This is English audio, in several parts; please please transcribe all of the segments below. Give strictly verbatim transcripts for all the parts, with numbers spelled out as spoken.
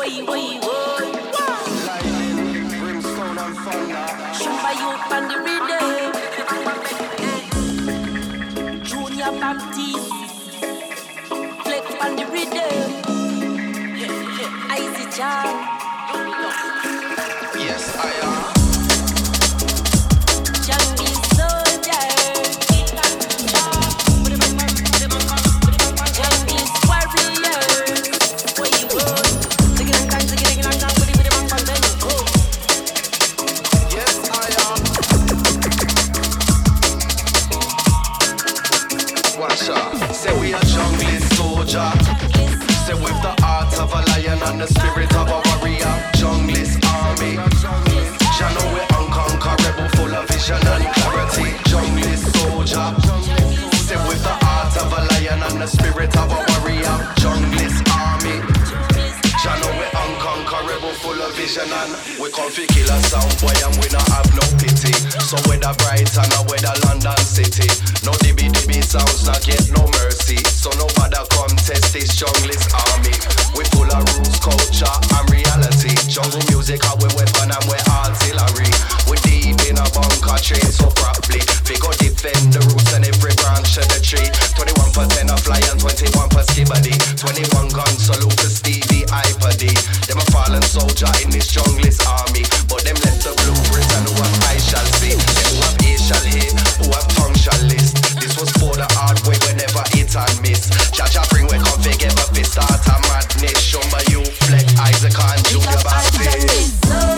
Way, way, way. Lightning, brimstone and thunder. Shumba youth on the rhythm. Junior Baptiste. Flex on the rhythm. Icy Jam. Yes, I am. Jungle soldier. Jungle warrior. Where you go? Sing it and dance, sing it and dance, put it with the bang bang, then you go. Yes, I am. Watch out. Say we are jungle soldier. Say with the heart of a lion and the spirit of a warrior. Junglist army. Jah know we unconquerable, full of vision and clarity. Junglist soldier. Say with the heart of a lion and the spirit of a warrior. Junglist army. Jah know we unconquerable, full of vision and we come fi kill a sound boy and we not have no pity. So whether Brighton or whether London City, no dibby dibby sounds not get no mercy. So nobody come test this junglist army. We full of rules, culture and reality. Jungle music our we weapon and we artillery. We deep in a bunker train so properly. We go defend the roots and every branch of the tree. Twenty-one for ten a fly and twenty-one for skibadee. Twenty-one gun salute to Stevie Ipaddy. Them a fallen soldier in this junglist army, but them left the blueprint and who have I shall see. Them who have A shall hear, who have tongue shall list. This was for the hard way whenever it and miss. Jaja bring we come together fi start a madness. Shumba you Fleck, Isaac and Junior Baptiste.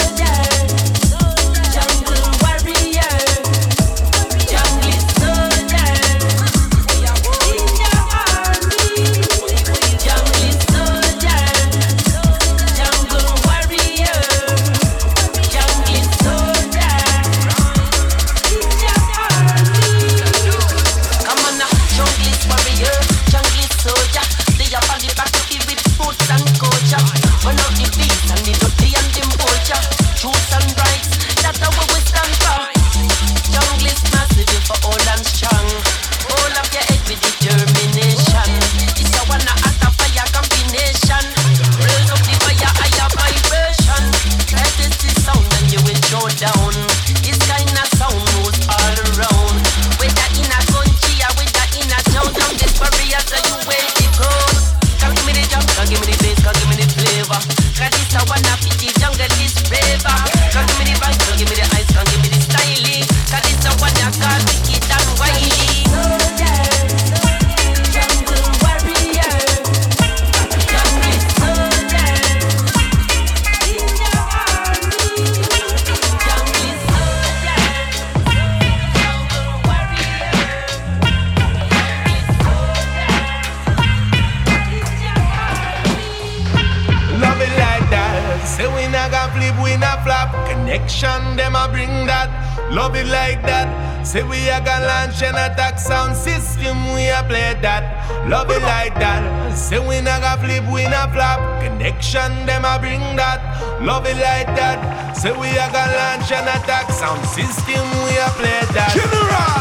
Jungle warrior. Jungle soldier. In the army. Jungle soldier. Jungle warrior. Jungle soldier. In the army. Come on now, jungle warrior. Jungle soldier. They are on the battlefield with boots and culture. One of the beats and the dirty and the culture. Truth and rights, that's how we stand for. Jungle is massive for all and strong. All of your head with determination. It's a one act of fire combination. Raise up the fire, higher vibration. Try this the sound and you will show down. This kind of sound moves all around. Whether in a country or whether in a town, down this barrier so you will be cold. Come give me the jump, come give me the bass, come give me the flavor. Cause this a one of the jungle is braver. Come give me the vibe, come give me the ice, come give me the styling. Cause this a one that call wicked and wily. Jungle warrior. Jungle soldier. In the army. Jungle soldier. Jungle warrior. Love it like that. Say we not gonna flip, we not flop. Connection, them a bring that. Love it like that. Say we a gonna launch an attack sound system, we a play that. Love it like that. Say we not gonna flip, we not flop. Connection, them a bring that. Love it like that. Say we a gonna launch an attack sound system, we a play that. General.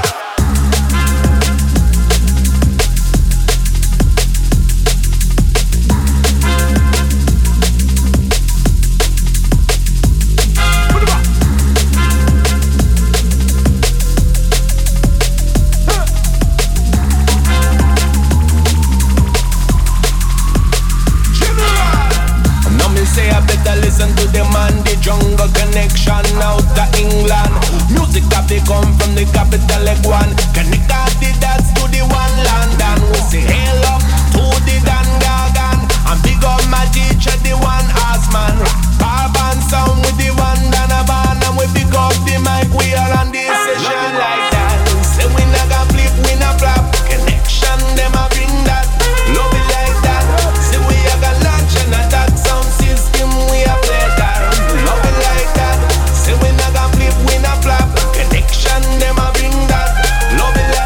Say I better listen to the man, the jungle connection out of England. Music that they come from the capital like one. Connect all the dots to the one London. We say hail up to the Dan Gagan. And big up my teacher, the one Asman. Carbon sound with the one Donovan. And we pick up the mic, we are on the session like that. Say we not gonna flip, we not flop. Connection, them a bring that. Love it like that. Say we are gonna launch and attack sound system, we a play that. Love it like that. Say we not gonna flip, we not flop. Connection, them a bring that. Love it like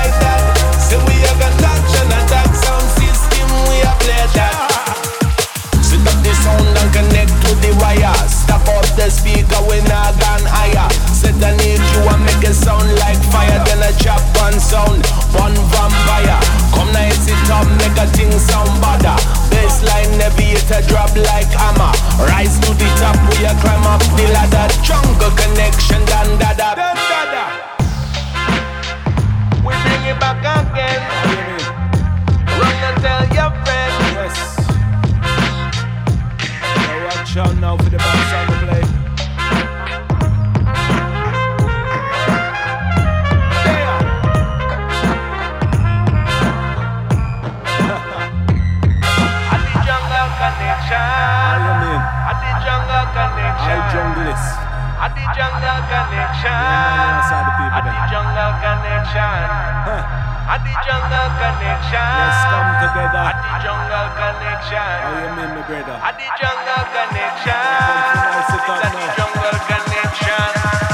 jungle connection. I junglist. At the jungle connection. At the jungle connection. At the jungle connection. Let's come together. At the jungle connection. How you mean, my brother? At the jungle connection. It's At the jungle connection.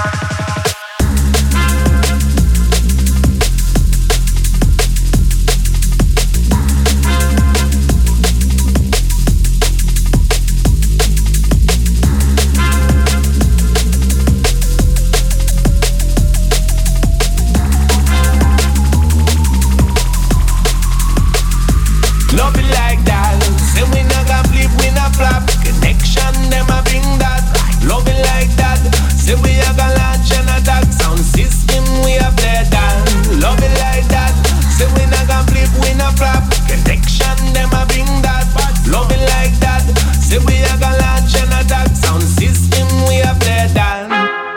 Love it like that. Say we not gonna flip, we not flop. Connection, them a bring that. Love it like that. Say we a gonna launch and attack. Sound system, we a play that. Love it like that. Say we not gonna flip, we not flop. Connection, them a bring that. Love it like that. Say we a gonna launch and attack. Sound system, we a play that.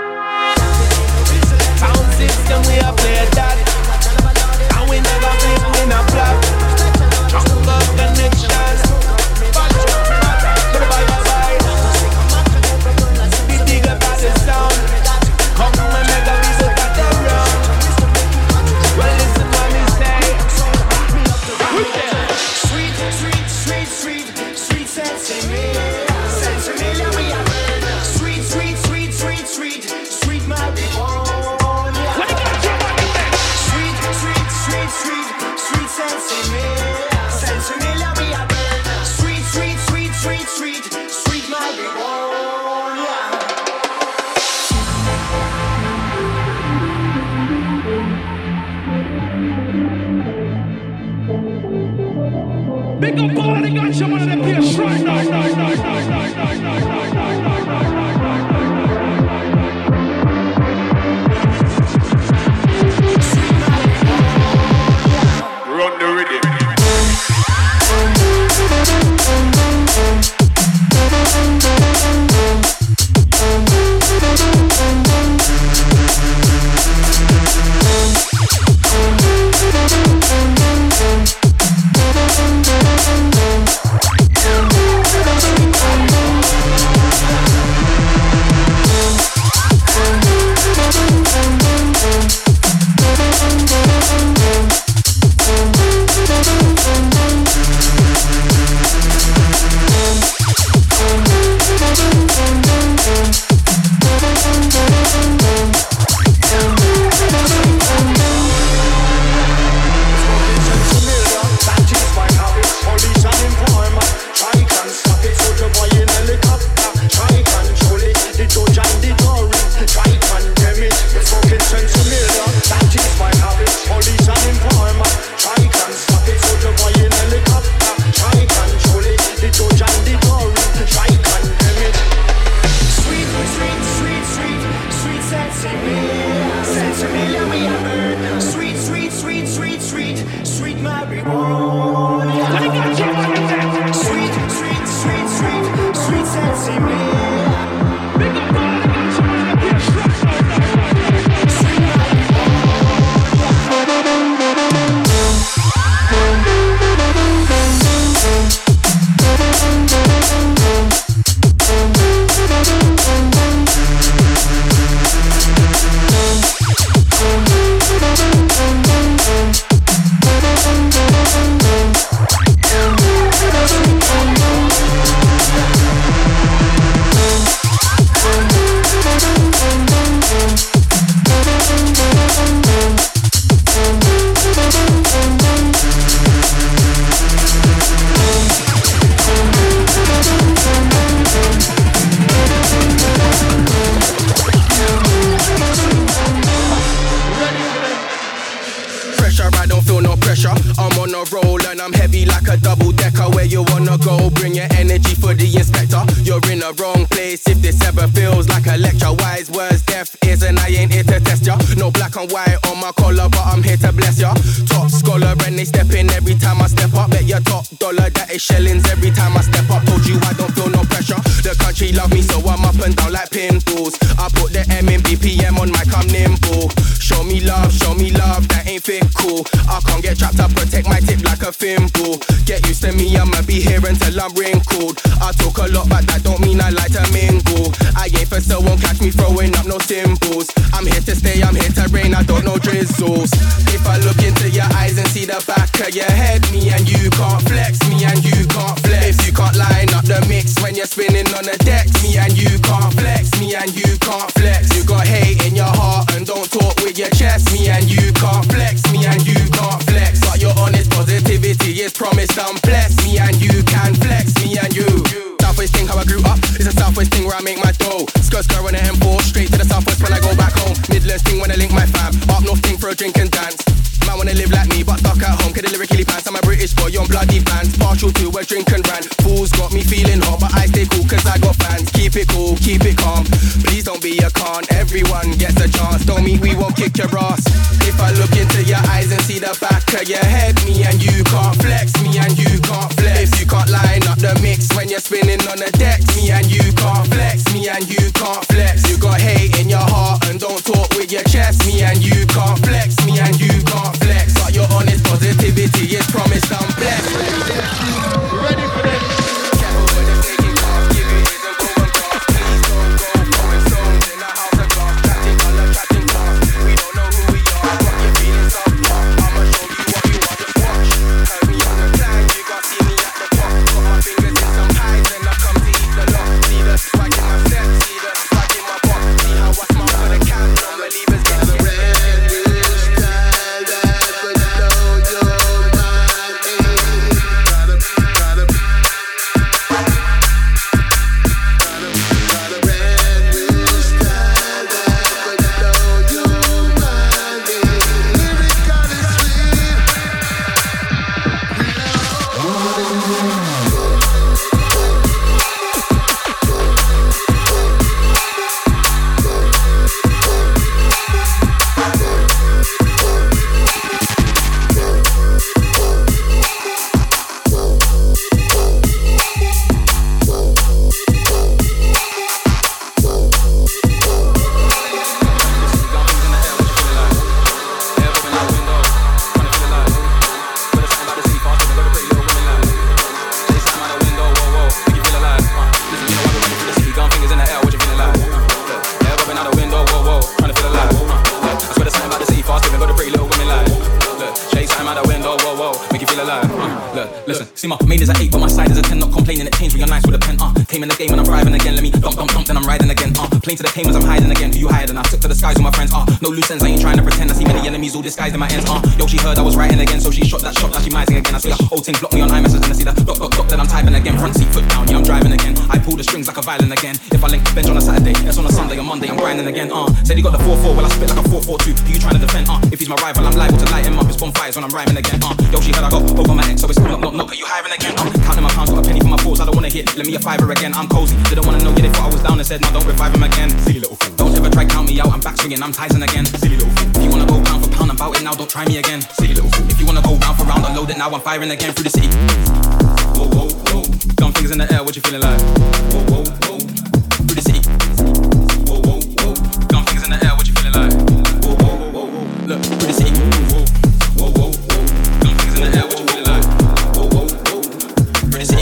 Sound system, we a play that. And we never flip, we not flop. Jungle connection. Bye bye bye. Be big about the sound. Come and make a visit at the round. Well, listen what me say. Sweet, sweet, sweet, sweet, sweet sensei, sensei, we are. Sweet, sweet, sweet, sweet, sweet, sweet marijuana. Sweet, sweet, sweet, sweet, sweet sensei. Sweet, sweet, sweet, sweet, sweet, sweet marijuana. Big up all the guys, some of them place right now, now, now, now, now, now, now, now, now, now, now. Run the rhythm. Show me love, show me love, that ain't fit cool. I can't get trapped, I protect my tip like a thimble. Get used to me, I'ma be here until I'm wrinkled. I talk a lot, but that don't mean I like to mingle. I ain't for so won't catch me throwing up no symbols. I'm here to stay, I'm here to reign, I don't know drizzles. If I look into your eyes and see the back of your head, me and you can't flex, me and you can't flex. If you can't line up the mix when you're spinning on the decks, me and you can't flex, me and you can't flex. You got hate in your heart and don't talk with your chest, me and you can't flex, me and you can't flex. But your honest positivity is promised and blessed, me and you can flex, me and you. Southwest thing how I grew up, it's a Southwest thing where I make my dough. Skirt skirt on the M four, straight to the Southwest when I go back home. Midlands thing when I link my fam, up north thing for a drink and dance. Man wanna live like me, but stuck at home, cause the lyrically pants. I'm a British boy on bloody bands, partial to a drink and rant. Fools got me feeling hot, but I stay cool cause I got fans. Keep it cool, keep it calm, please don't be a con. Everyone gets a chance, don't mean we won't kick your ass. If I look into your eyes and see the back of your head, me and you can't flex, me and you can't flex. If you can't line up the mix when you're spinning on the decks, me and you can't flex, me and you can't flex. You got hate in your heart and don't talk with your chest, me and you can't flex, me and you can't flex. But your honest positivity is promised and blessed. Ready for this? Careful when they're taking off, give it is and go and cross. Please don't go throwing stones in a house of glass. Chatting on the chatting class, we don't know who we are. But you're feeling some pop, I'ma show you what you want, just watch. Heard me on the plan, you got see me at the top. Got my fingers in some pies and I come to eat the lot. See the swag in my step, see the swag in my box. See how I smile for the cam, non-believers get the red. See my main is a eight, but my side is a ten. Not complaining, it changed when you're nice with a pen. Uh, came in the game and I'm thriving again. Let me dump, dump, dump, then I'm riding again. Uh, playing to the came as I'm hiding again. Who you hiding? I took to the skies with my friends. Uh, no loose ends, I ain't trying to pretend. I see many enemies all disguised in my ends. Uh, yo, she heard I was writing again, so she shot that shot, now she mising again. I see the whole thing block me on iMessage and I see the dot, dot, dot, then I'm typing again. Front seat, foot down, yeah, I'm driving again. I pull the strings like a violin again. If I link the bench on a Saturday, that's on a Sunday or Monday, I'm grinding again. Uh, said he got the four four, well I spit like a four four two. Who you trying to defend? Uh, if he's my rival, I'm liable to light him up. It's bonfires when I'm rhyming again. Uh, yo, she heard I got over my ex, so it's knock, knock, knock. Are you hiring again? Uh, counting my pounds, got a penny for my balls, I don't wanna hit. Let me a fiver again, I'm cozy. They don't wanna know, yeah, they thought I was down and said, no, don't revive him again. Silly little fool. Don't ever try count me out, I'm back swinging, I'm Tyson again. Silly little fool. If you wanna go pound for pound, I'm bout it now, don't try me again. Silly little fool. If you wanna go round for round, unload it now, I'm firing again through the city. Whoa, whoa, whoa. Gun fingers in the air, what you feeling like? Whoa, whoa, whoa. Through the city. Whoa, whoa, whoa. Gun fingers in the air, what you feeling like? Whoa, whoa, whoa, whoa, whoa. Look, through the city. Whoa, whoa, whoa, whoa. Gun fingers in the air, what you feeling like? Whoa, whoa, whoa. Through the city.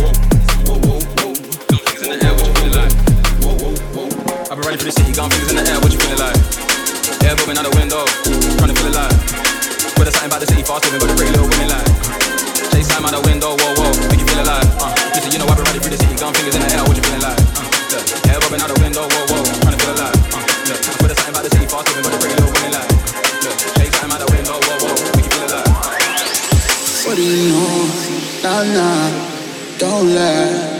Whoa, whoa, whoa. Gun fingers in the air, what you feeling like? Whoa, whoa, whoa. I've been ready for the city, gun fingers in the air, what you feeling like? Air moving out the window, trying to feel alive. With a something about the city fast living, got a pretty little women like. Chase time out the window, whoa, whoa, make you feel alive. Uh, listen, you know I've been ready for the city, gun fingers in the air, what you feeling like? Uh, look, air moving out the window, whoa, whoa, trying to feel alive. Uh, look, with a something about the city fast living, got a pretty little women like. Look, chase time out the window, whoa, whoa, make you feel alive. What do you know? Nah, nah, don't lie.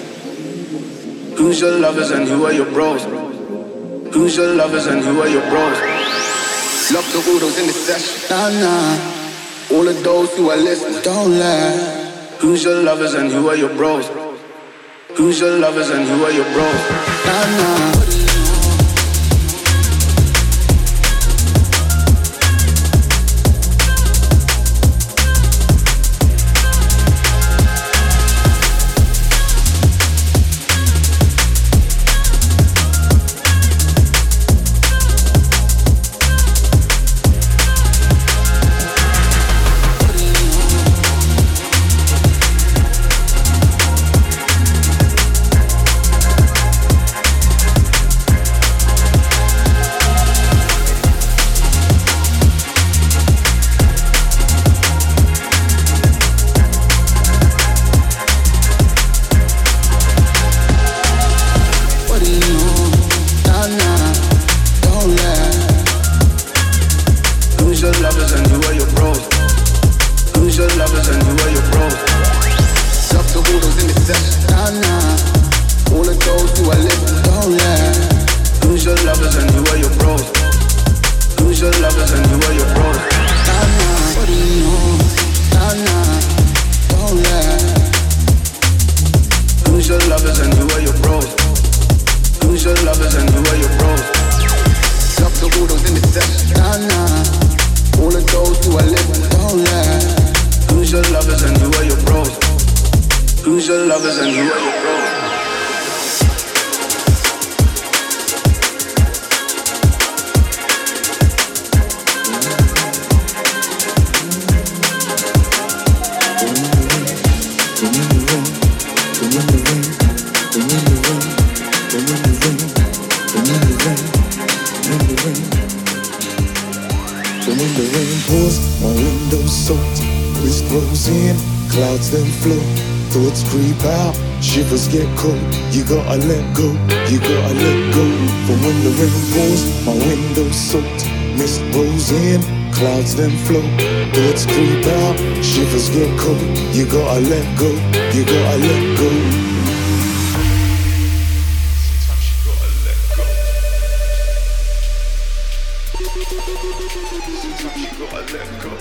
Who's your lovers and who are your bros? Who's your lovers and who are your bros? Lock the Udos in the session. Nah, nah. All of those who are listening, don't lie. Who's your lovers and who are your bros? Who's your lovers and who are your bros? Nah, nah. best, nah, nah. All of those who I live, don't let. Who's your lovers and who are your bros? Who's your lovers and who are your bros? Nah, nah, what do you know? Nah, nah, don't let. Who's your lovers and who are your bros? Who's your lovers and who are your bros? Love the water in the depths, nah, nah. All of those who I live, don't let. Who's your lovers and who are your bros? Who's your lovers and who are your bros? Clouds then flow, thoughts creep out, shivers get cold. You gotta let go, you gotta let go. From when the rain pours, my window's soaked. Mist rolls in, clouds then flow, thoughts creep out, shivers get cold. You gotta let go, you gotta let go. Sometimes you gotta let go.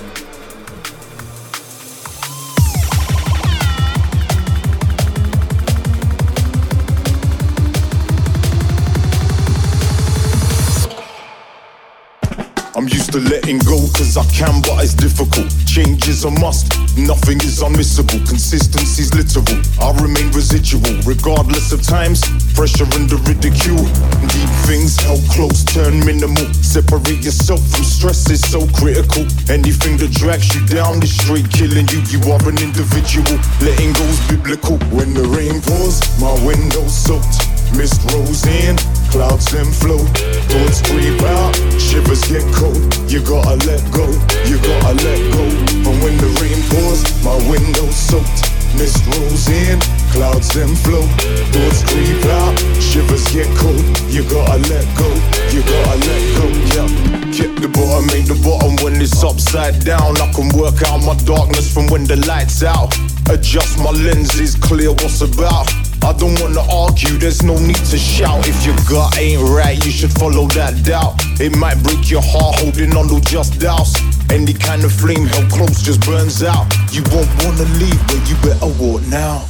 I'm used to letting go cause I can, but it's difficult. Change is a must, nothing is unmissable. Consistency's literal, I remain residual. Regardless of times, pressure and the ridicule. Deep things held close, turn minimal. Separate yourself from stress is so critical. Anything that drags you down is straight killing you. You are an individual, letting go's biblical. When the rain pours, my window's soaked. Mist rolls in, clouds then flow. Thoughts creep out, shivers get cold. You gotta let go, you gotta let go. And when the rain pours, my window's soaked. Mist rolls in, clouds then flow. Thoughts creep out, shivers get cold. You gotta let go, you gotta let go. Yeah, keep the bottom, make the bottom when it's upside down. I can work out my darkness from when the light's out. Adjust my lenses, clear what's about. I don't wanna argue, there's no need to shout. If your gut ain't right, you should follow that doubt. It might break your heart holding on to just doubts. Any kind of flame held close just burns out. You won't wanna leave, but you better walk now.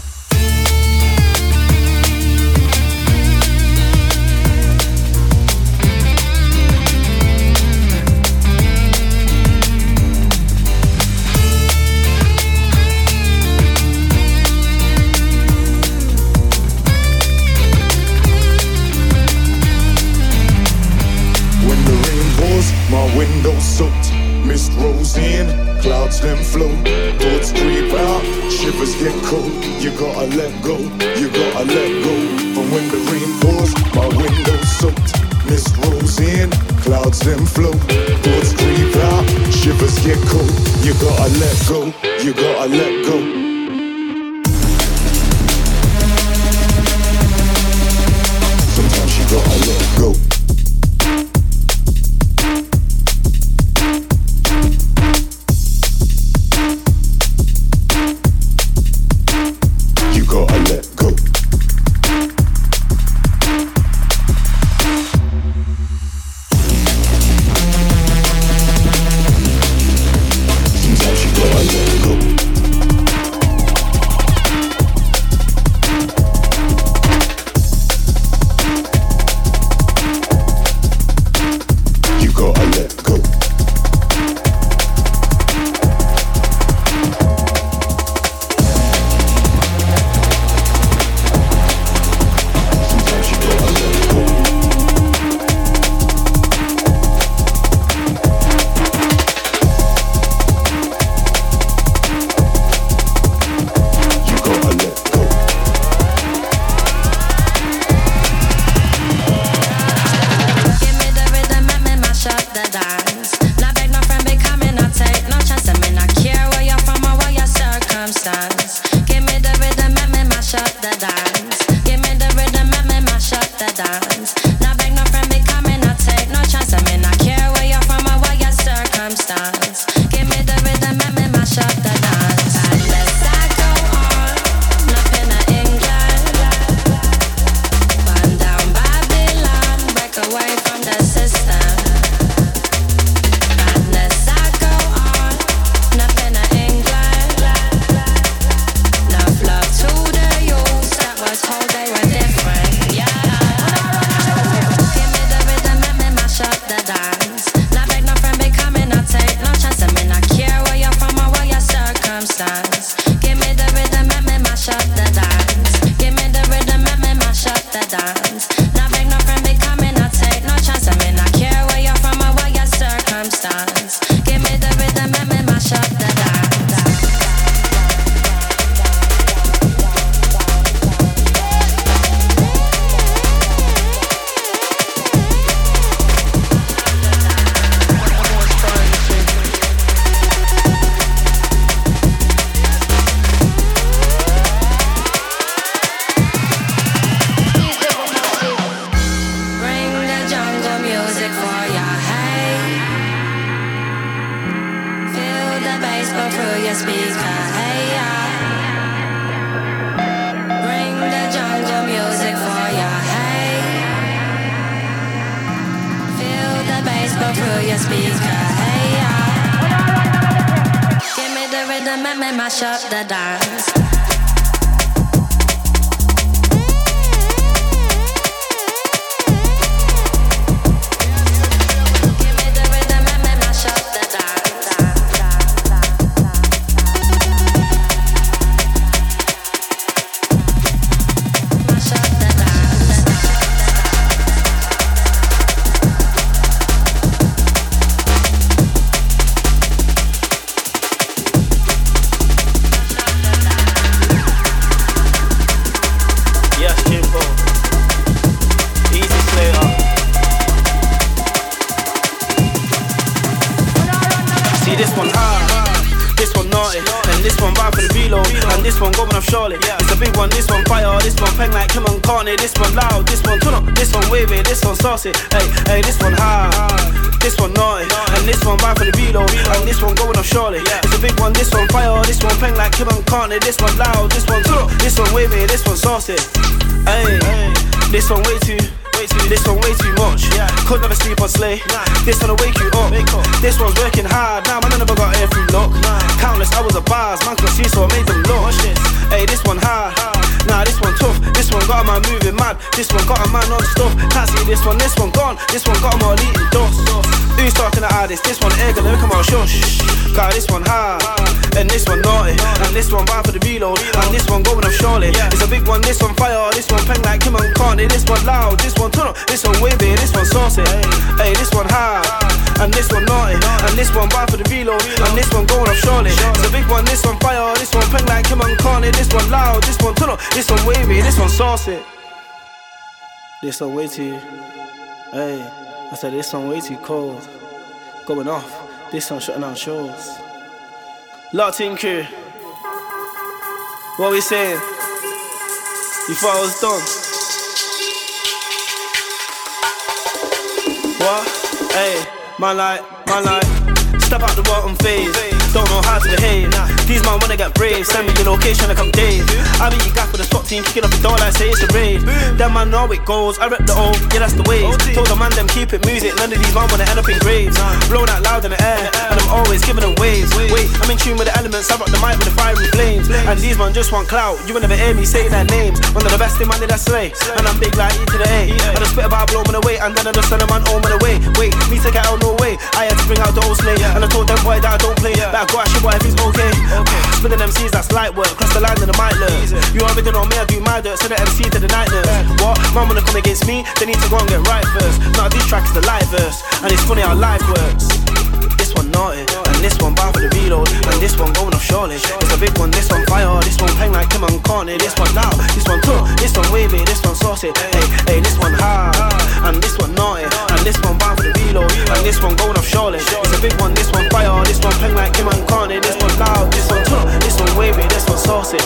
My window's soaked, mist rolls in, clouds then flow. Thoughts creep out, shivers get cold. You gotta let go, you gotta let go. But when the rain pours, my window's soaked. Mist rolls in, clouds then flow. Thoughts creep out, shivers get cold. You gotta let go, you gotta let go. Sometimes you gotta let go. mash up the dance. This one going off Charlotte, it's a big one. This one fire, this one peng like Kim and Carney. This one loud, this one turn up, this one wavy, this one saucy. Hey, hey, this one high, this one naughty, and this one vibe for the reload, and this one going off Charlotte. It's a big one. This one fire, this one peng like Kim and Carney. This one loud, this one turn up, this one wavy, this one saucy. Hey, this one way too. This one way too much. Could never sleep on Slay. This one'll wake you up. This one's working hard. Now nah, man, I never got air through luck. Countless hours of bars, man could see, so I made them look. Hey, this one hard. Nah, this one tough. This one got a man moving mad. This one got a man on stuff. Can't see this one. This one gone. This one got him all eating dust. Who's talking to artists? This one egg and come out shush. Got this one hard. And this one naughty. And this one bad for the reload. And this one going off Charlotte. It's a big one. This one fire. This one peng like Kim and Carney. This one loud. This one turn up. This one wavy, this one saucy. Hey, this one high, and this one naughty, and this one bad for the reload, and this one going off Charlotte. It's a big one. This one fire. This one peng like Kim and Carney. This one loud. This one turn up. This one wavy. This one saucy. This one way too. Hey, I said this one way too cold. Going off. This one shutting down shows. Lot team crew. What we saying? You thought I was done? What? Hey, man like, man like, step out the bottom phase. Don't know how to behave. These man wanna get brave. Send me your location like I'm Dave. I be your guy for the SWAT team, kicking up the door like say it's a raid. Them man know it goes. I rep the O, yeah that's the wave. Told the man them keep it music. None of these man wanna end up in graves. Blown out loud in the air, and I'm always giving them waves. Wait, I'm in tune with the elements. I rock the mic with the fiery flames. And these man just want clout. You will never hear me say their names. One of the best in man that slay. And I'm big like E to the A. I just spit about blow man away, and then I just send a man home and away. Wait, me take it out no way. I had to bring out the old slay, and I told them boy that I don't play. That I go at your boy if he's okay. Okay. Spinning M Cs, that's light work. Cross the line and the mic lurk. You already know me, I do my dirt. Send the M C to the night nurse. What? Man wanna come against me? They need to go and get right first. Now this track is the live verse, and it's funny how life works. This one naughty, and this one bound for the reload, and this one going off Charlotte. It's a big one. This one fire, this one peng like Kim and Carney. This one loud, this one tough, this one wavy, this one saucy. Hey, hey, this one hard, and this one naughty, and this one bound for the reload, and this one going off Charlotte. It's a big one. This one fire, this one peng like Kim and Carney. This one loud, this one tough, this one wavy, this one saucy.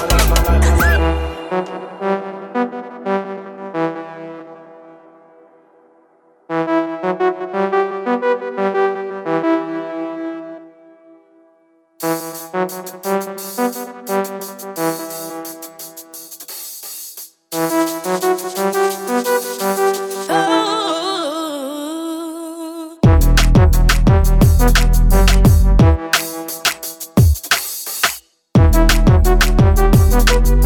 Oh.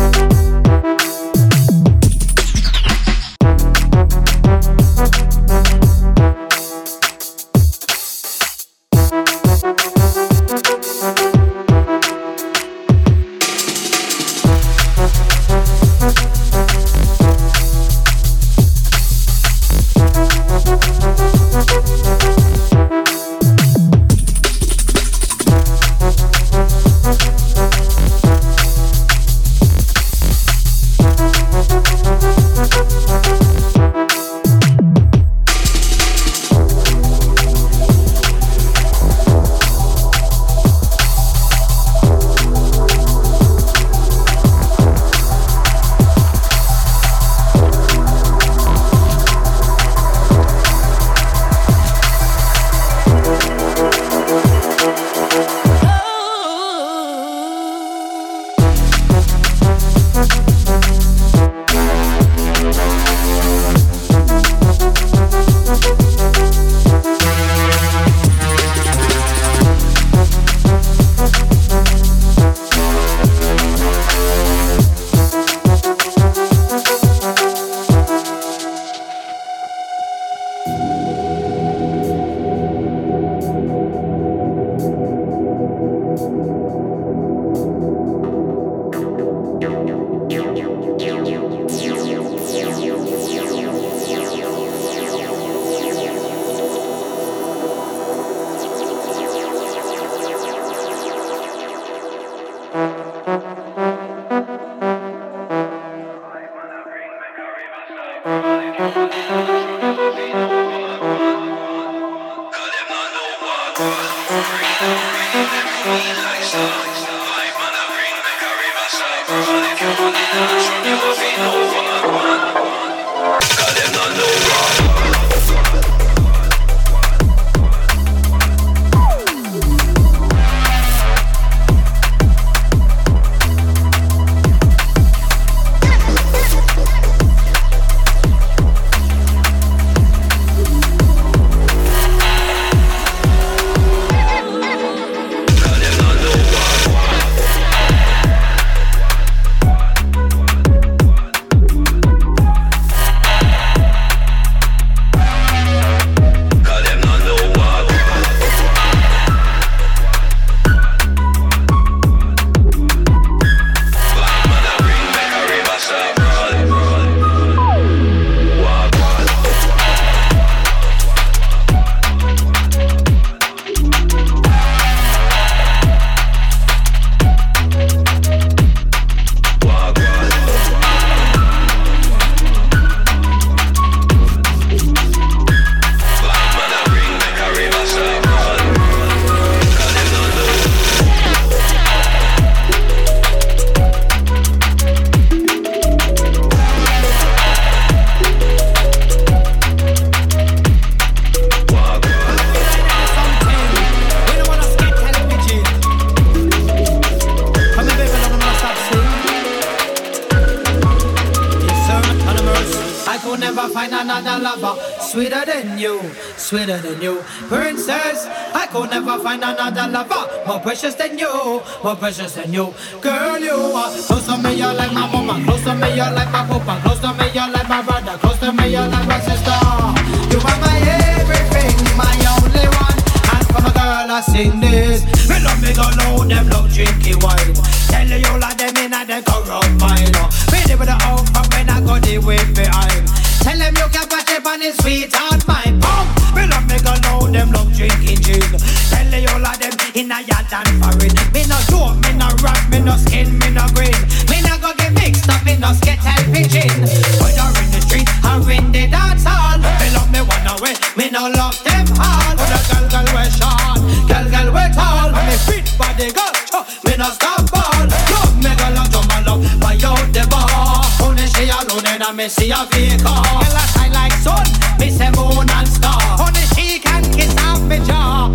Sweeter than you, sweeter than you, princess. I could never find another lover more precious than you, more precious than you. Girl, you are close to me, you're like my mama. Close to me, you're like my papa. Close to me, you're like my brother. Close to me, you're like my sister. You are my everything, my only one. And for my girl, I sing this. Me love me go low, them love drinking wine. Tell you all of them in a the corrupt mind. Me live with the out from when I go the way behind. Tell them you can patch up on his sweetheart, my pump. Me love me go know them love drinking gin. Tell you all of them in a yacht and foreign. Me no dope, me no rap, me no skin, me no green. Me no go get mixed up, me no skettle pigeon. Whether in the street or in the dance hall, me love me one away, me no love them all. But a girl, girl we short, girl, girl we tall. And me fit body girl, me no stop ball. Love me girl and jump and love, buy out the bar. Only she alone and I me see a vehicle. Girl I shine like sun, me say moon and star. Only she can kiss off me jaw.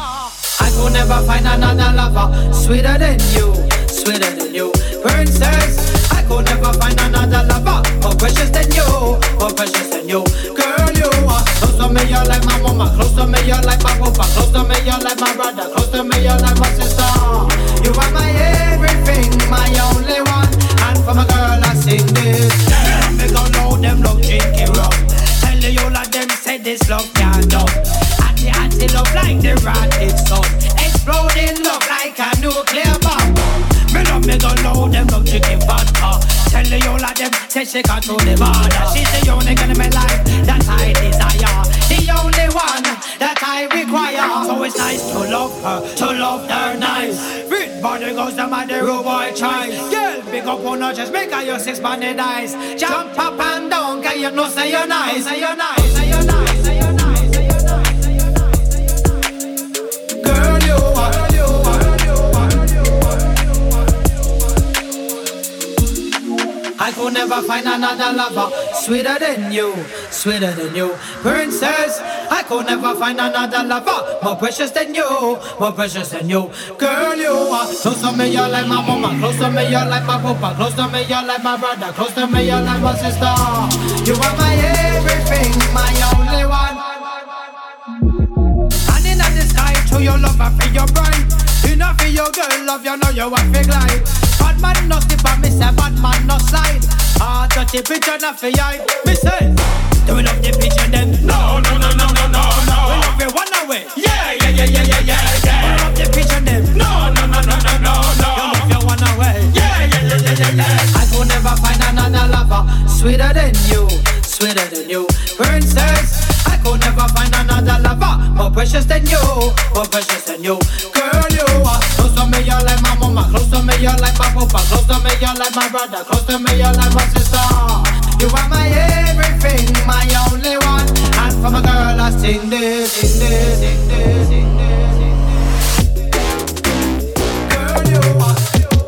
I could never find another lover sweeter than you, sweeter than you, princess. I could never find another lover more precious than you, more precious than you. Girl, you are close to me, you're like my mama. Close to me, you're like my papa. Close to me, you're like my brother. Close to me, you're like my sister. You are my everything, my only one. And for my girl, I sing this. Yeah, me go know them love drinking rum. Tell you all of them say this love can't done. And the anti love like the rotted sun. Exploding love like a nuclear bomb. Me love me go know them love drinking vodka. Tell you all of them say she can't throw the border. She's the only girl in my life that I desire. The only one that I require. So it's nice to love her, to love her nice. Fit body goes down by the rude boy choice. Girl, big up on her chest, make her your six banded eyes. Jump up and down, cause you know say you're nice. Say you're nice, say you're nice, say you're nice, say you're nice, say you're nice. Girl, you are, girl, you are, girl, you are, girl, you are, girl, you are. I could never find another lover sweeter than you, sweeter than you, princess. I could never find another lover more precious than you, more precious than you. Girl, you are close to me, you're like my mama. Close to me, you're like my papa. Close to me, you're like my brother. Close to me, you're like my sister. You are my everything, my only one. And in the sky, to your love, I feel your bride. Enough for your girl, love, you know you want to glide. Bad man no slip and me say bad man no slide. Ah, dirty pigeon not for you. Me say, do we love the pigeon then? No, no, no, no, no, no, no. We love you one away. Yeah, yeah, yeah, yeah, yeah, yeah, yeah. We love the pigeon then? No, no, no, no, no, no, no. You love you one away. Yeah, yeah, yeah, yeah, yeah, yeah. I could never never find another lover sweeter than you, sweeter than you, princess. I could never find another lover more precious than you, more precious than you. Girl, you are close to me, you're like my mama. Close to me, you're like my papa. Close to me, you're like my brother. Close to me, you're like my sister. You are my everything, my only one. And from a girl I sing this, sing this, sing this, sing this, sing this. Girl, you are.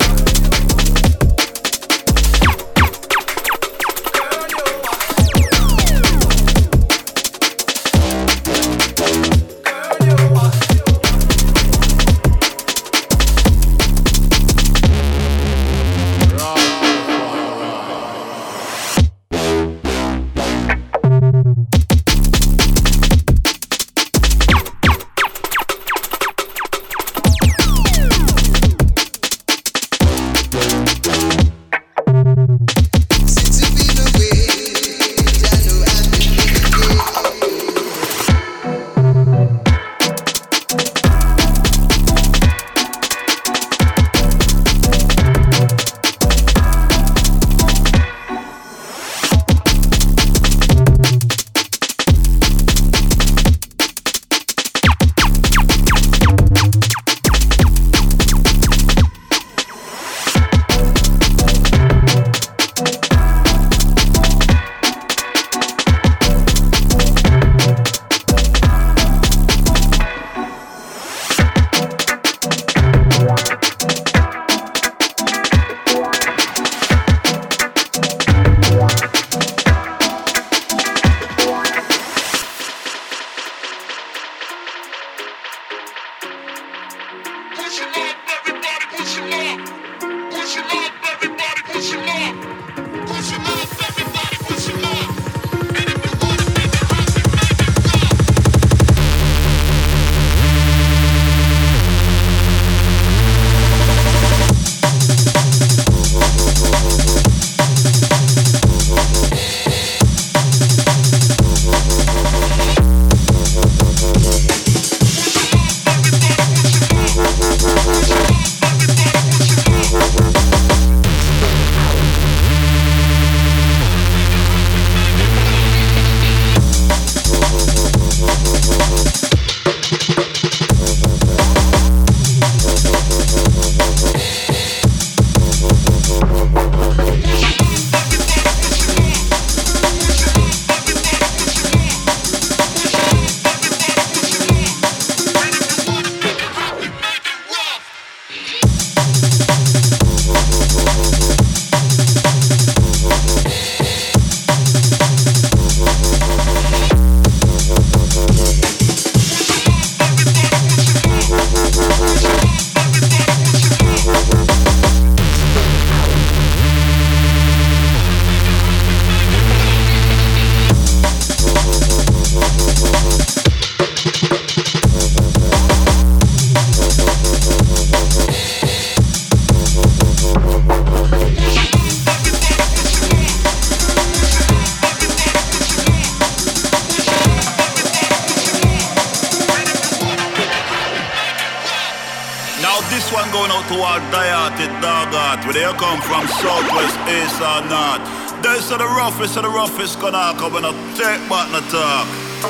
Roughest of the roughest gonna come and take back the talk.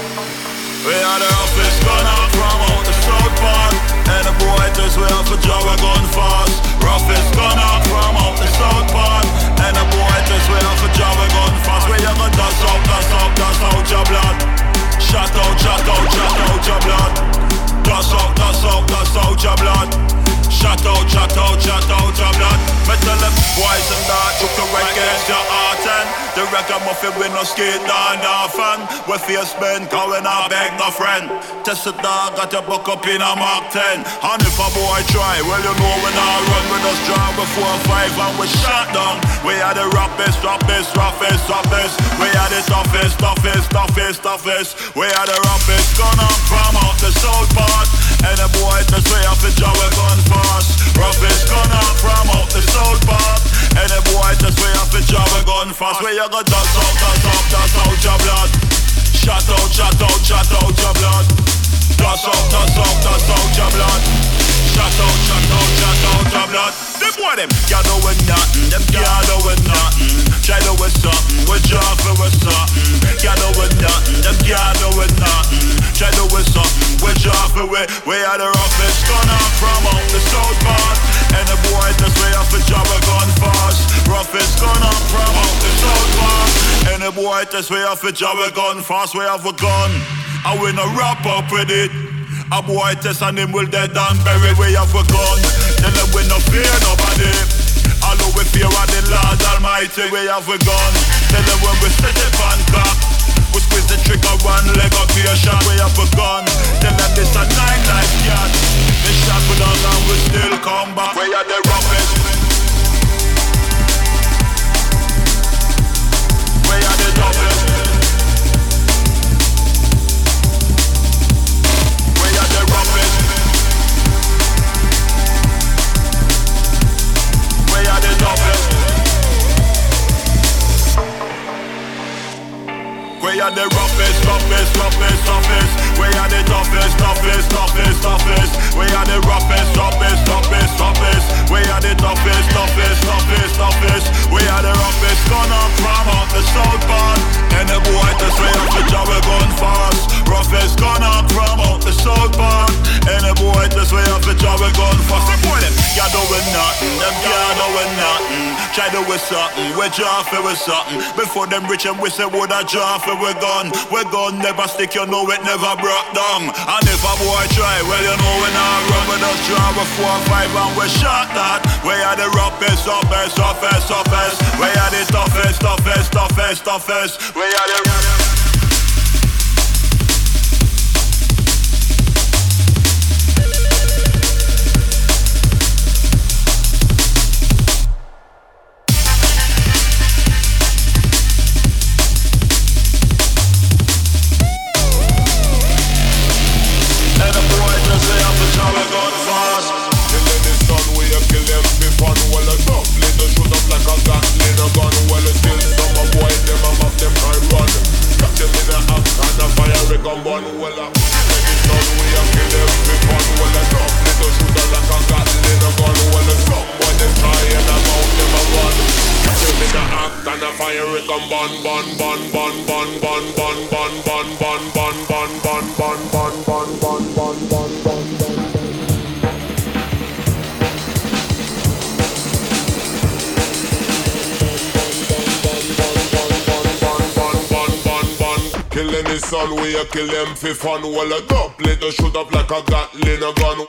We are the roughest gonna from out the south part. And the boy just way off a job a gun fast. Roughest gonna from out the south part. And the boy just way off a job a gun fast. Where you gonna dust out, dust out, dust out your blood. Shut out, shut out, shut out your blood. Dust out, dust out, dust out your blood. Shut out, shut out, shut out your blood. Me tell them boys and that you can wreck against your heart and the record muffin with no skate down often. We face bend, cause we not beg no friend. Test the dog, got your buck up in a Mark ten. And if a boy try, well you know we not run with us drive before five and we shot down. We are the roughest, roughest, roughest, roughest. We are the toughest, toughest, toughest, toughest. We are the roughest, gone up from out the south part. And the boy just way off the job we gun fast. Roughest gone up from out the south part. And the boy just way off the job we gun fast. Where you go dust out, dust out, dust out your blood. Shut out, shut out, shut out your blood. Dust out, dust out, dust out your blood. Shut out, shut out, shut out your blood. Them boy them can't do with nothing. Them can't do with nothing. Try to with something. We draw for with something. Can't do with nothing. Them can't do with nothing. Try to with something. We draw for with. We are the roughest gun out from out the south part. And the boy just way off the job a gun fast. Roughest gun out from out the south part. And the boy just way off the job a gun fast. We have a gun. I win a wrap up with it. A boy test and him will dead and buried. We have a gun. Tell them we no fear nobody. Although we fear of the Lord Almighty. We have a gun. Tell them when we set it on cock, we squeeze the trigger one leg up here shot. We have a gun. Tell them this a nine life cat. They shot with us and we still come back. We are the roughest. We are the toughest. We are the roughest, roughest, roughest, toughest. We are the toughest, toughest, toughest, toughest. We are the roughest, toughest, toughest, toughest. We are the toughest, toughest, toughest, toughest. We are the roughest gun up from out the south part. And the boy just way up the job we gun fast. Roughest gun up from out the south part. And the boy just way up the job we gun fast. The boy them can't do with nothing. Them can't do with nothing. Try to with something. We draw for with something. Before them rich and we say would I draw for we gun, we gun never stick, you know it never broke down. And if a boy try, well you know we not run with us, draw with four or five and we shot that. We are the roughest, toughest, toughest, toughest. We are the toughest, toughest, toughest, toughest. We are the son, we a kill them for fun. Well, a double it, a shoot up like a Gatling a gun.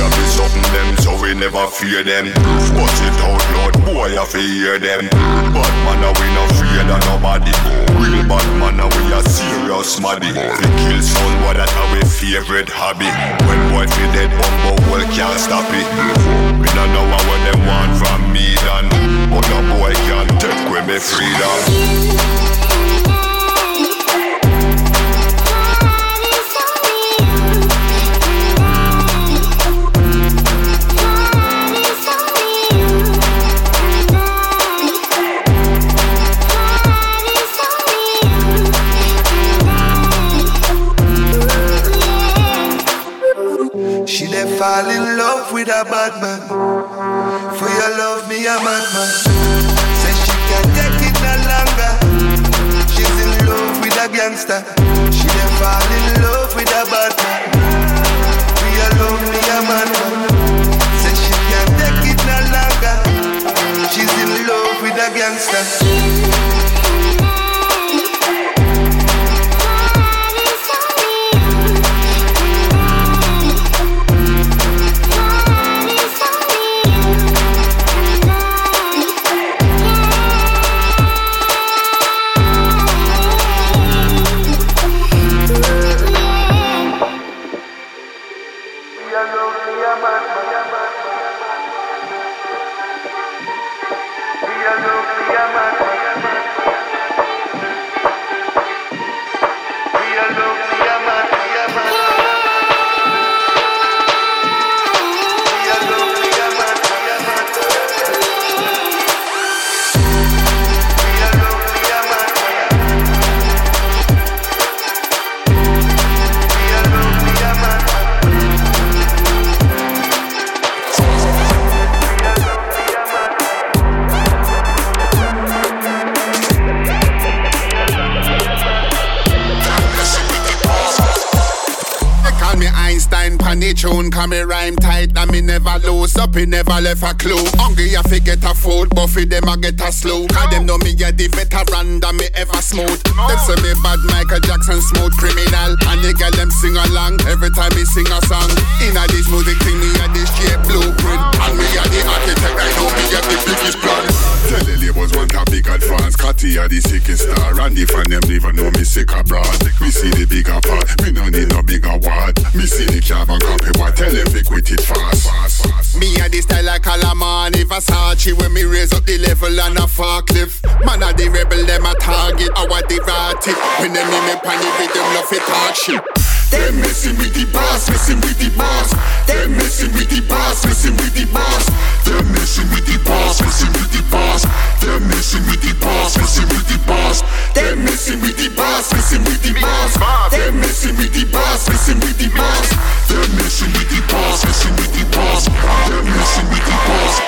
have be something them, so we never fear them. Bust it out loud, boy, I fi hear them. Bad man, a we no fear of nobody. Real bad man, a we a serious maddy. We kill someone, that our favorite hobby. When boy feel dead, bumbo well can't stop it. We don't know what them want from me done, but no boy can't take away me freedom. Fall in love with a bad man. For your love, me a madman. Say she can't take it no longer. She's in love with a gangster. She then fall in love with a bad man. For your love, me a madman. Say she can't take it no longer. She's in love with a gangster. Tune, can me rhyme tight and me never lose up, he never left a clue. Hungry I fi get a food, but for them I get a slow. Cause them know me a the veteran that me ever smooth. Them say me bad Michael Jackson smooth criminal. And the girl them sing along every time me sing a song. In a this music thing me a this shape blueprint. And me a the architect, I know me get the biggest plan. Tell the labels want a big advance. Catty a the sickest star. And if and them never know me sick abroad. Me see the bigger part, me no need no bigger word. Me see the carbon copy, what tell them we quit it fast, fast, fast. Me a the style like Alamani Versace. When me raise up the level and a forklift. Man a the rebel, them a target, our the ratty. When them me me panic with them love it talk shit. Them messing with the boss, messing with the boss. Them messing with the boss, messing with the boss. Them messing with the boss, messing with the boss. Them messing with the boss, messing with the boss. Them messing with the boss, messing with the boss. Them messing with the boss, messing with the boss. Them messing with the boss, messing with the boss. Them messing with the boss.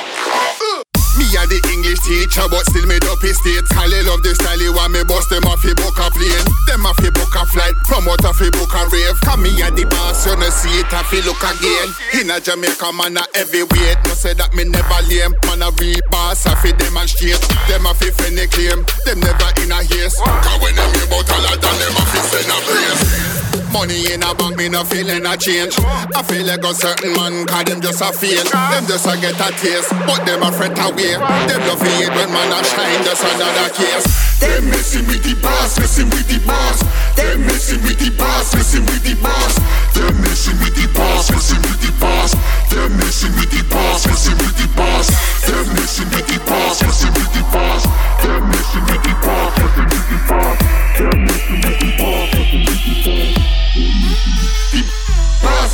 Me a the English teacher, but still made up his state. Kyle love the style, you want me bust them off a book a plane. Them off a book a flight, promote off a book a rave. Come me a the boss, you no see it off a look again. In a Jamaica, man a heavyweight. No say that me never lame. Man a real boss, off a demonstrate. Them off a friendly claim, them never in a haste. Cause when them hear about all of them, them off a send a praise. Money in a bank, me no feeling a change. I feel like a certain man, cause them just a fail. Them just a get a taste, but them a fret away. Them love it when man a shine, just another case. Them messing with the boss, messing with the boss. Them messing with the boss, messing with the boss. Them messing with the boss, messing with the boss. Them messing with the boss, messing with the boss. Them messing with the boss, messing with the boss. Them messing with the boss, messing with the boss. Them messing with the boss, messing with the boss. Boss.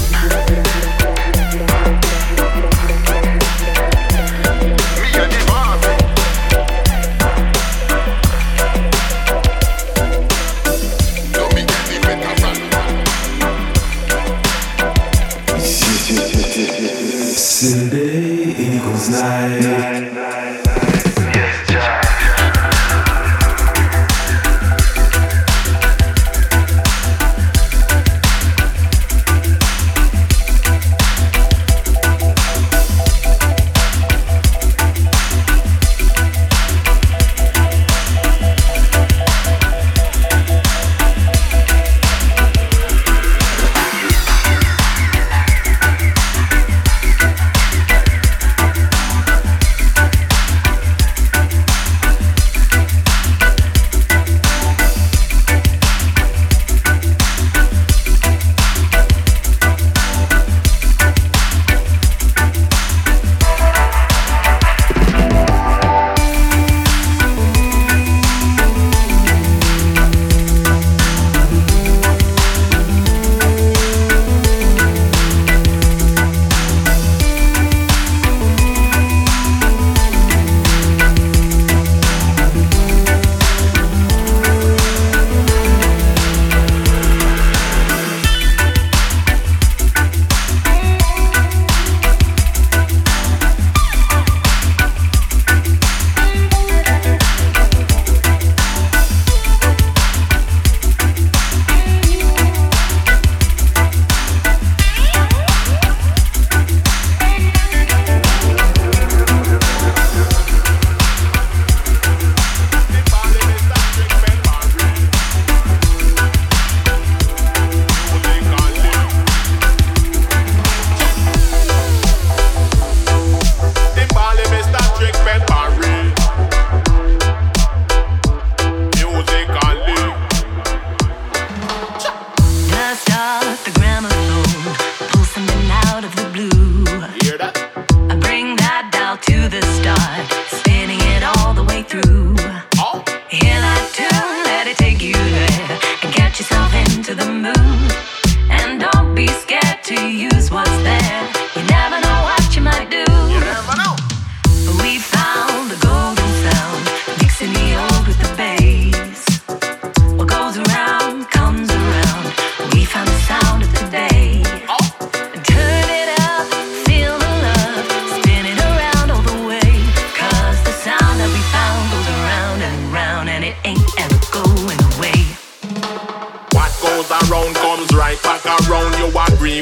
Sunday equals night.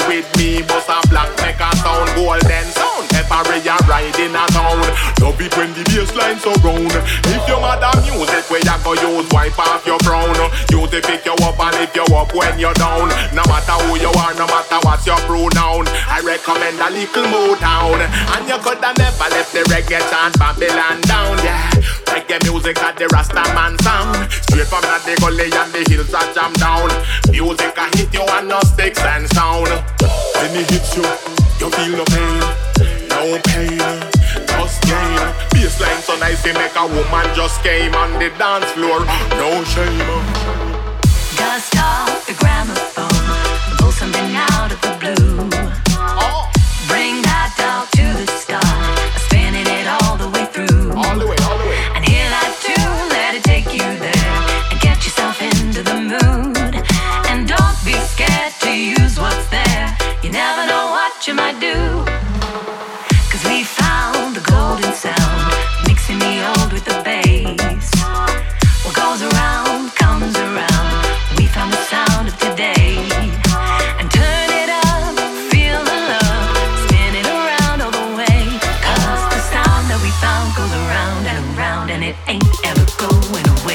with me, bust a black make a sound, golden sound. Every you ride in a town, love it when the bassline so round. If your mother music where you go use, wipe off your frown. Use it pick you up and lift you up when you're down. No matter who you are, no matter what's your pronoun, I recommend a little Motown. And you coulda never left the reggae chant Babylon down, yeah. Reggae music at the Rasta man sound. Straight from the gully and the hills that jam down. Music a hit you and no sticks and sound. When it hits you, you feel no pain, no pain, just gain. Bassline so nice they make a woman just came on the dance floor. No shame. Dust off the gramophone, blow something out of the blue. Oh. Bring that dog to the start, spinning it all the way through. All the way, all the way. And hear that tune, let it take you there, and get yourself into the mood. And don't be scared to use what's there. You never know what you might do. Cause we found the golden sound, mixing the old with the bass. What goes around comes around. We found the sound of today. And turn it up, feel the love, spin it around all the way. Cause the sound that we found goes around and around, and it ain't ever going away.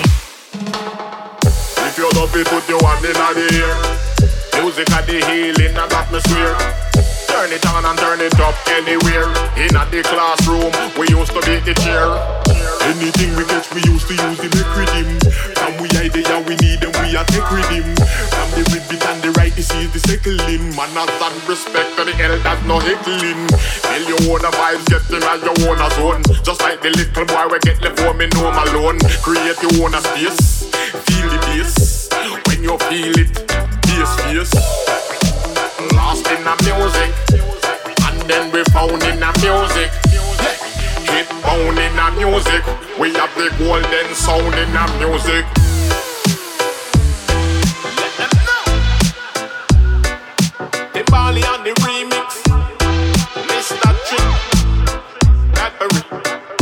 If you love it, put your hand in the air. Music at the healing and atmosphere. Turn it on and turn it up anywhere. In at the classroom, we used to beat the chair. Anything we catch, we used to use the make rhythm. From we idea we need them, we are take rhythm. From the ribbit and the right, this is the settling. Manners and respect to the elders, no heckling. Feel your own vibes, getting at your own zone. Just like the little boy we get left home in home alone. Create your own space, feel the bass. When you feel it, bass face. Lost in the music, and then we found in the music. Hit bound in the music, we have the golden sound in the music. Let them know. The Bali on the remix, Mister Trick, Peppery.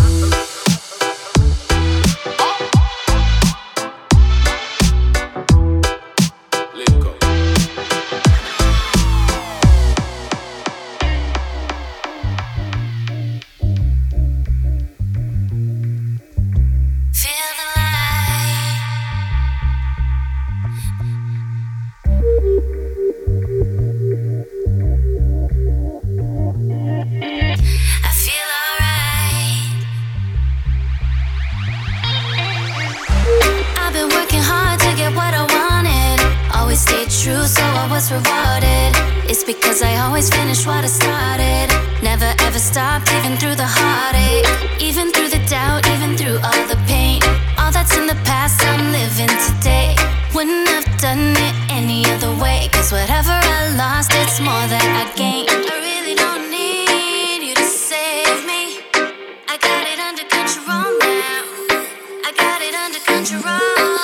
True, so I was rewarded. It's because I always finish what I started. Never ever stopped, even through the heartache, even through the doubt, even through all the pain. All that's in the past, I'm living today. Wouldn't have done it any other way. Cause whatever I lost, it's more that I gained. I really don't need you to save me. I got it under control now. I got it under control.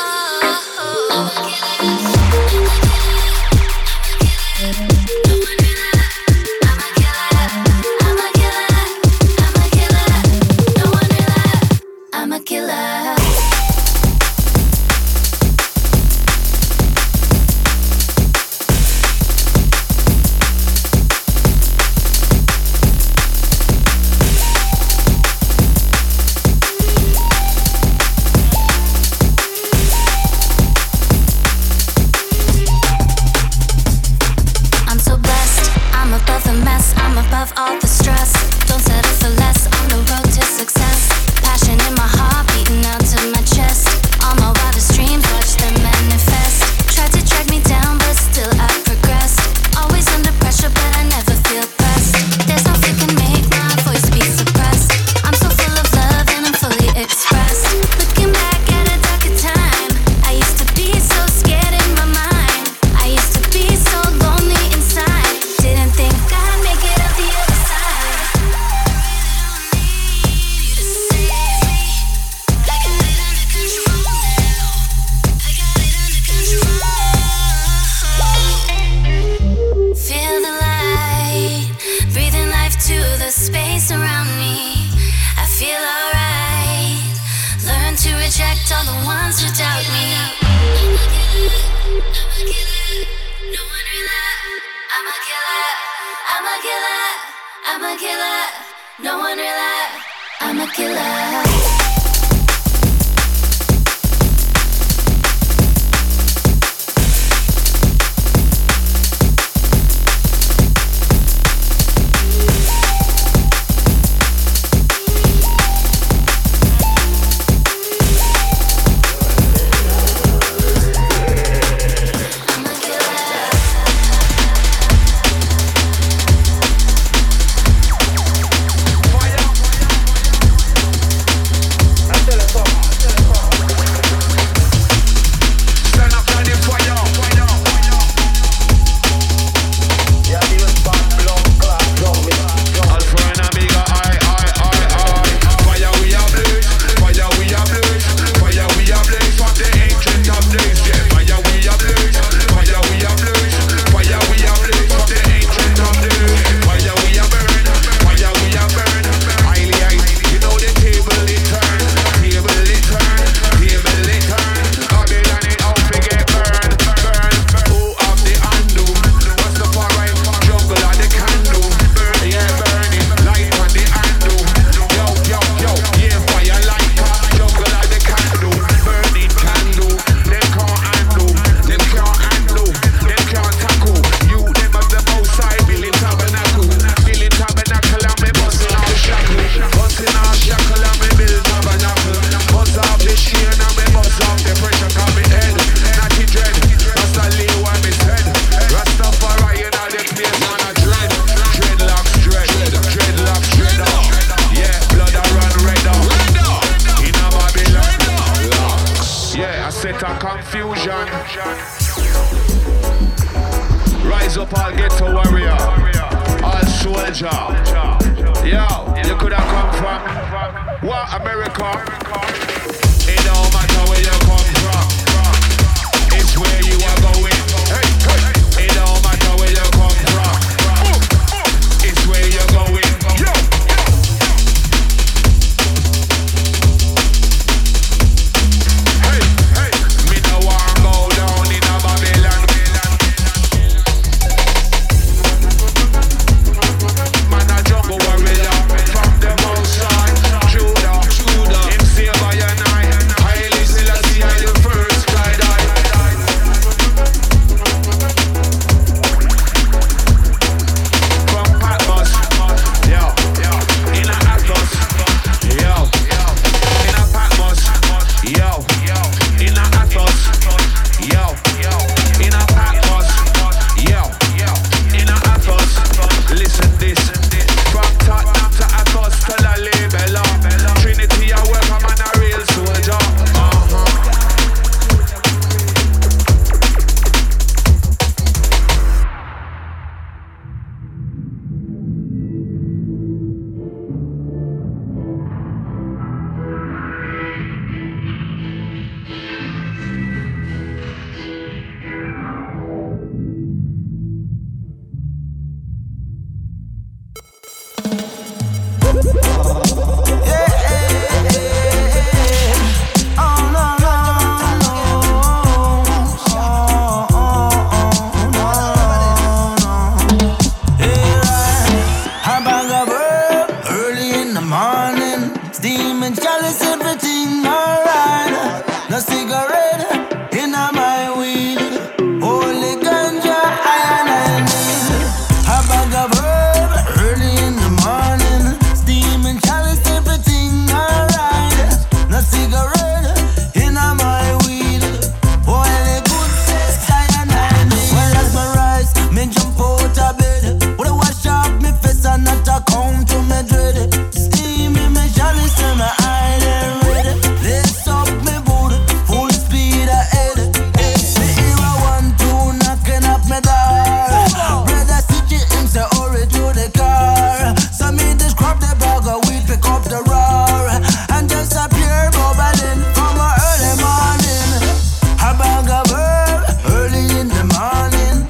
All the stress, don't settle for less. On the road to success, passion in my heart beating out to my chest. All my wildest dreams, watch them manifest. Tried to drag me down, but still I progressed. Always under pressure, but I never feel pressed. There's nothing can make my voice be suppressed. I'm so full of love and I'm fully expressed. Looking back at a darker time, I used to be so scared in my mind. I used to be so lonely inside. Didn't think I'd make it up the other side. I really don't need I'm a killer, no one rely. I'm a killer.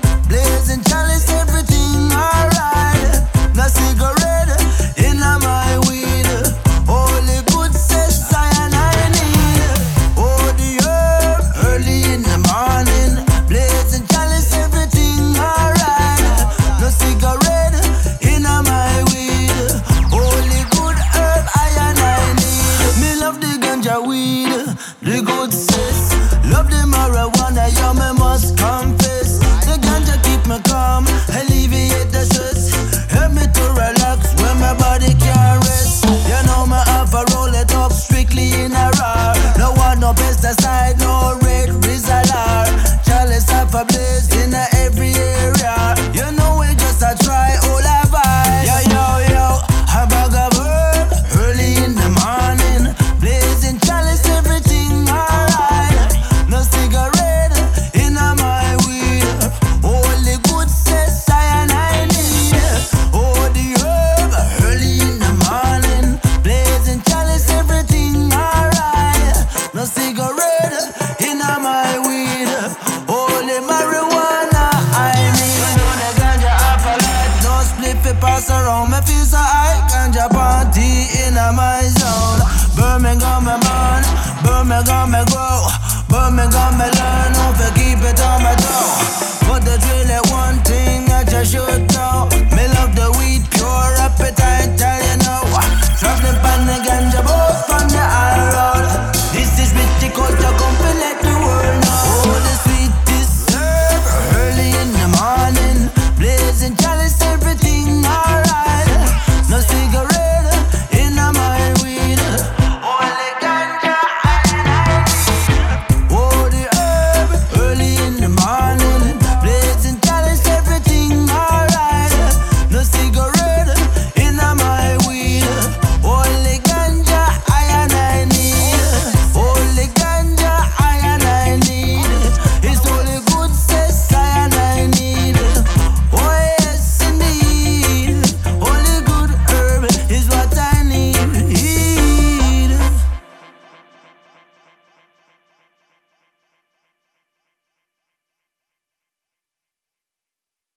Cigarette in my me got me